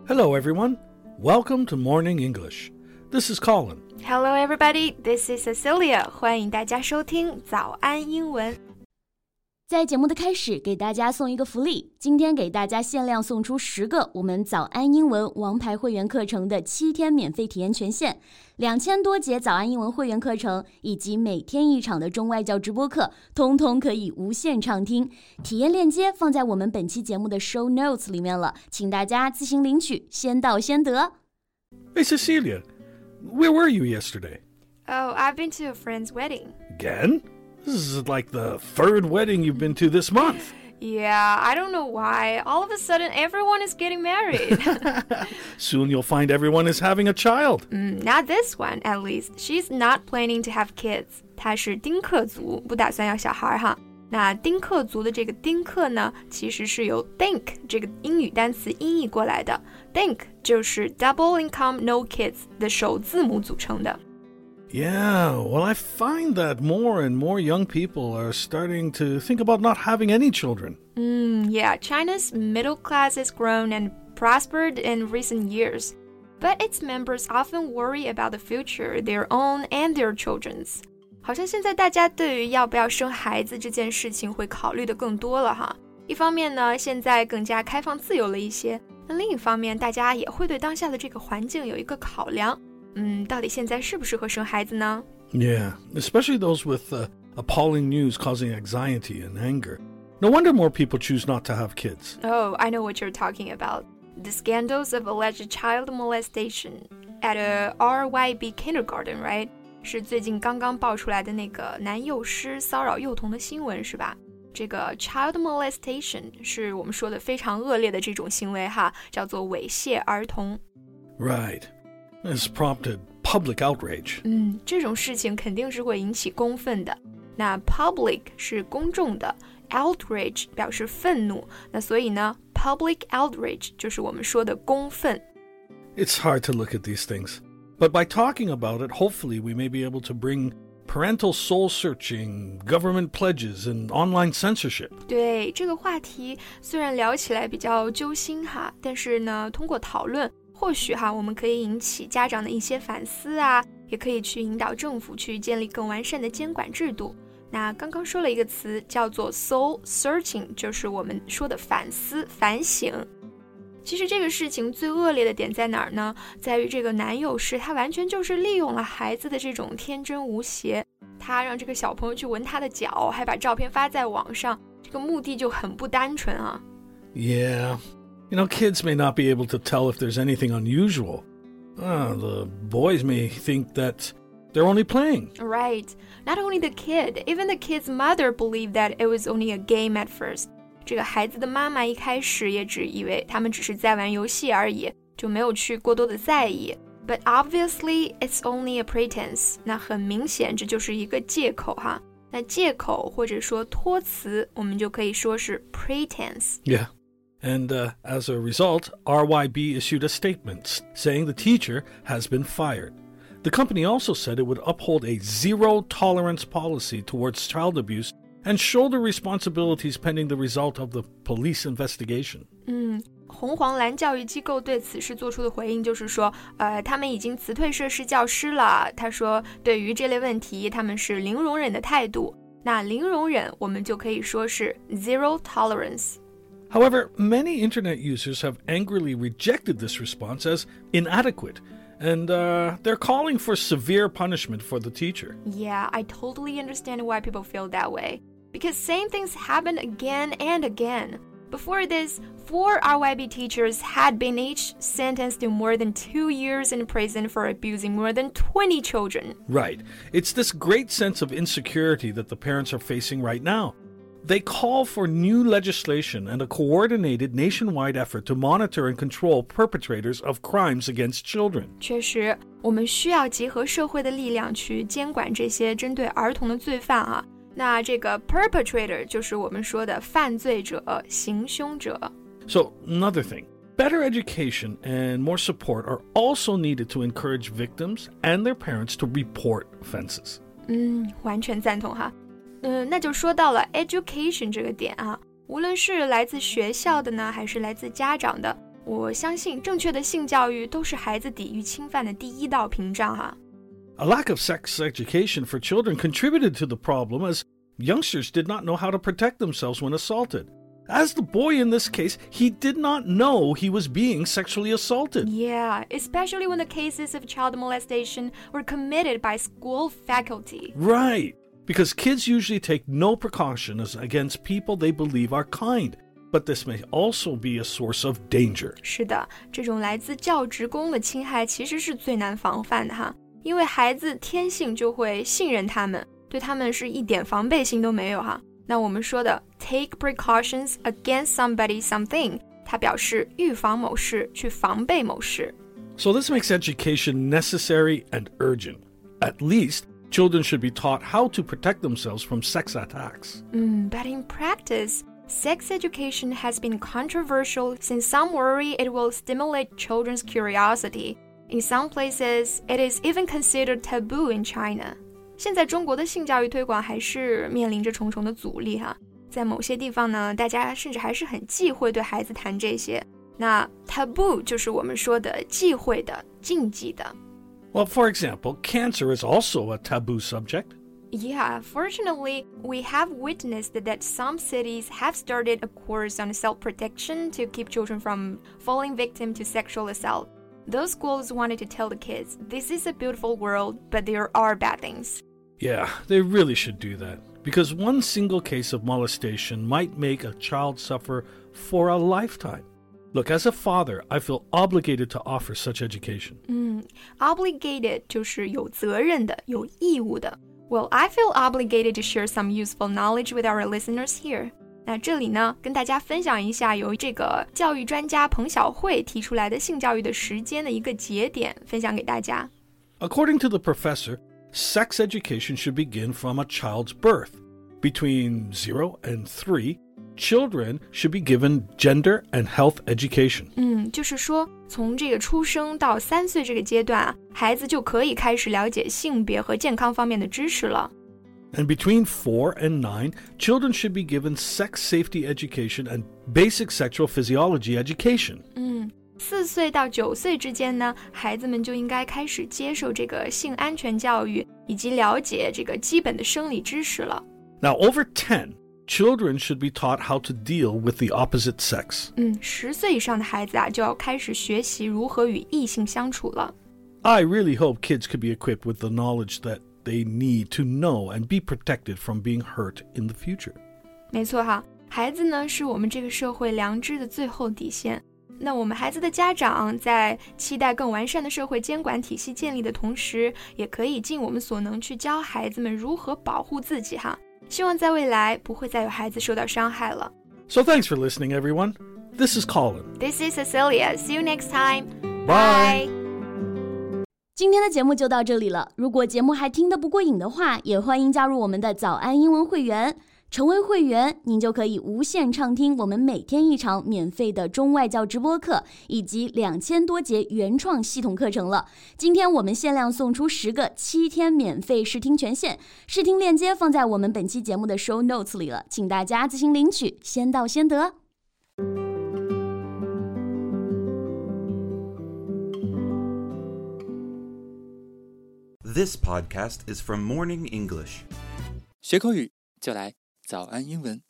Hello, everyone. Welcome to Morning English. This is Colin. Hello, everybody. This is Cecilia. 欢迎大家收听早安英文。 在节目的开始，给大家送一个福利。今天给大家限量送出10个我们早安英文王牌会员课程的7天免费体验权限，2000多节早安英文会员课程以及每天1场的中外教直播课，通通可以无限畅听。体验链接放在我们本期节目的 show notes 里面了，请大家自行领取，先到先得。 Hey, Cecilia, where were you yesterday? Oh, I've been to a friend's wedding. Again?This is like the third wedding you've been to this month. Yeah, I don't know why. All of a sudden, everyone is getting married. Soon you'll find everyone is having a child. Not this one, at least. She's not planning to have kids. 她是丁克族，不打算要小孩哈。那丁克族的这个丁克呢，其实是由 think 这个英语单词音译过来的。think 就是 double income no kids 的首字母组成的。 Yeah, well, I find that more and more young people are starting to think about not having any children. Yeah, China's middle class has grown and prospered in recent years, but its members often worry about the future, their own and their children's. 好像现在大家对于要不要生孩子这件事情会考虑的更多了哈。一方面呢，现在更加开放自由了一些，那另一方面，大家也会对当下的这个环境有一个考量。到底现在适不适合生孩子呢？ Yeah, especially those with appalling news causing anxiety and anger. No wonder more people choose not to have kids. Oh, I know what you're talking about. The scandals of alleged child molestation at a RYB kindergarten, right? 是最近刚刚爆出来的那个男幼师骚扰幼童的新闻是吧？这个 child molestation 是我们说的非常恶劣的这种行为哈，叫做猥亵儿童。 Right.This prompted public outrage. 这种事情肯定是会引起公愤的。那 public 是公众的 outrage 表示愤怒，那所以呢 public outrage 就是我们说的公愤。 It's hard to look at these things, but by talking about it, hopefully we may be able to bring parental soul-searching, government pledges, and online censorship. 对，这个话题虽然聊起来比较揪心哈，但是呢，通过讨论或许我们可以引起家长的一些反思啊，也可以去引导政府去建立更完善的监管制度。那刚刚说了一个词叫做 soul searching， 就是我们说的反思、反省。其实这个事情最恶劣的点在哪儿呢？在于这个男幼师他完全就是利用了孩子的这种天真无邪，他让这个小朋友去闻他的脚，还把照片发在网上，这个目的就很不单纯啊。 Yeah.You know, kids may not be able to tell if there's anything unusual. The boys may think that they're only playing. Right. Not only the kid, even the kid's mother believed that it was only a game at first. 这个孩子的妈妈一开始也只以为他们只是在玩游戏而已，就没有去过多的在意。But obviously, it's only a pretense. 那很明显，这就是一个借口哈。那借口或者说托词，我们就可以说是 pretense. Yeah.And as a result, RYB issued a statement saying the teacher has been fired. The company also said it would uphold a zero-tolerance policy towards child abuse and shoulder responsibilities pending the result of the police investigation. 红黄蓝教育机构对此事做出的回应就是说，他们已经辞退涉事教师了。他说，对于这类问题，他们是零容忍的态度。那零容忍，我们就可以说是 zero tolerance.However, many internet users have angrily rejected this response as inadequate, and they're calling for severe punishment for the teacher. Yeah, I totally understand why people feel that way. Because same things happen again and again. Before this, 4 RYB teachers had been each sentenced to more than 2 years in prison for abusing more than 20 children. Right. It's this great sense of insecurity that the parents are facing right now.They call for new legislation and a coordinated nationwide effort to monitor and control perpetrators of crimes against children. 确实，我们需要结合社会的力量去监管这些针对儿童的罪犯啊。那这个 perpetrator 就是我们说的犯罪者、行凶者。 So, another thing. Better education and more support are also needed to encourage victims and their parents to report offenses. 完全赞同哈。那就说到了 education 这个点啊，无论是来自学校的呢，还是来自家长的， 我相信正确的性教育都是孩子抵御侵犯的第一道屏障哈。 A lack of sex education for children contributed to the problem as youngsters did not know how to protect themselves when assaulted. As the boy in this case, he did not know he was being sexually assaulted. Yeah, especially when the cases of child molestation were committed by school faculty. Right, because kids usually take no precautions against people they believe are kind, but this may also be a source of danger. 是的，这种来自教职工的侵害其实是最难防范的哈，因为孩子天性就会信任他们，对他们是一点防备心都没有哈。那我们说的 take precautions against somebody something， 它表示预防某事，去防备某事。 So this makes education necessary and urgent. At least, children should be taught how to protect themselves from sex attacks. But in practice, sex education has been controversial since some worry it will stimulate children's curiosity. In some places, it is even considered taboo in China. 现在中国的性教育推广还是面临着重重的阻力哈，在某些地方呢，大家甚至还是很忌讳对孩子谈这些。那 taboo 就是我们说的忌讳的、禁忌的。 Well, for example, cancer is also a taboo subject. Yeah, fortunately, we have witnessed that some cities have started a course on self-protection to keep children from falling victim to sexual assault. Those schools wanted to tell the kids, this is a beautiful world, but there are bad things. Yeah, they really should do that, because one single case of molestation might make a child suffer for a lifetime. Look, as a father, I feel obligated to offer such education. Obligated 就是有责任的、有义务的。Well, I feel obligated to share some useful knowledge with our listeners here. 那这里呢，跟大家分享一下由这个教育专家彭晓慧提出来的性教育的时间的一个节点，分享给大家。 According to the professor, sex education should begin from a child's birth. Between 0 and 3, children should be given gender and health education. 就是说从这个出生到3岁这个阶段啊，孩子就可以开始了解性别和健康方面的知识了。 And between 4 and 9, children should be given sex safety education and basic sexual physiology education. 4岁到9岁之间呢，孩子们就应该开始接受这个性安全教育，以及了解这个基本的生理知识了。 Now, over 10, children should be taught how to deal with the opposite sex. 10岁以上的孩子啊，就要开始学习如何与异性相处了。 I really hope kids could be equipped with the knowledge that they need to know and be protected from being hurt in the future. 没错哈，孩子呢是我们这个社会良知的最后底线。那我们孩子的家长在期待更完善的社会监管体系建立的同时，也可以尽我们所能去教孩子们如何保护自己哈。希望在未来不会再有孩子受到伤害了。 So thanks for listening, everyone. This is Colin. This is Cecilia. See you next time. Bye. 今天的节目就到这里了。如果节目还听得不过瘾的话，也欢迎加入我们的早安英文会员。成为会员，您就可以无限畅听我们每天一场免费的中外教直播课，以及2000多节原创系统课程了。今天我们限量送出10个7天免费试听权限，试听链接放在我们本期节目的 show notes 里了，请大家自行领取，先到先得。 This podcast is from Morning English. 学口语就来早安英文。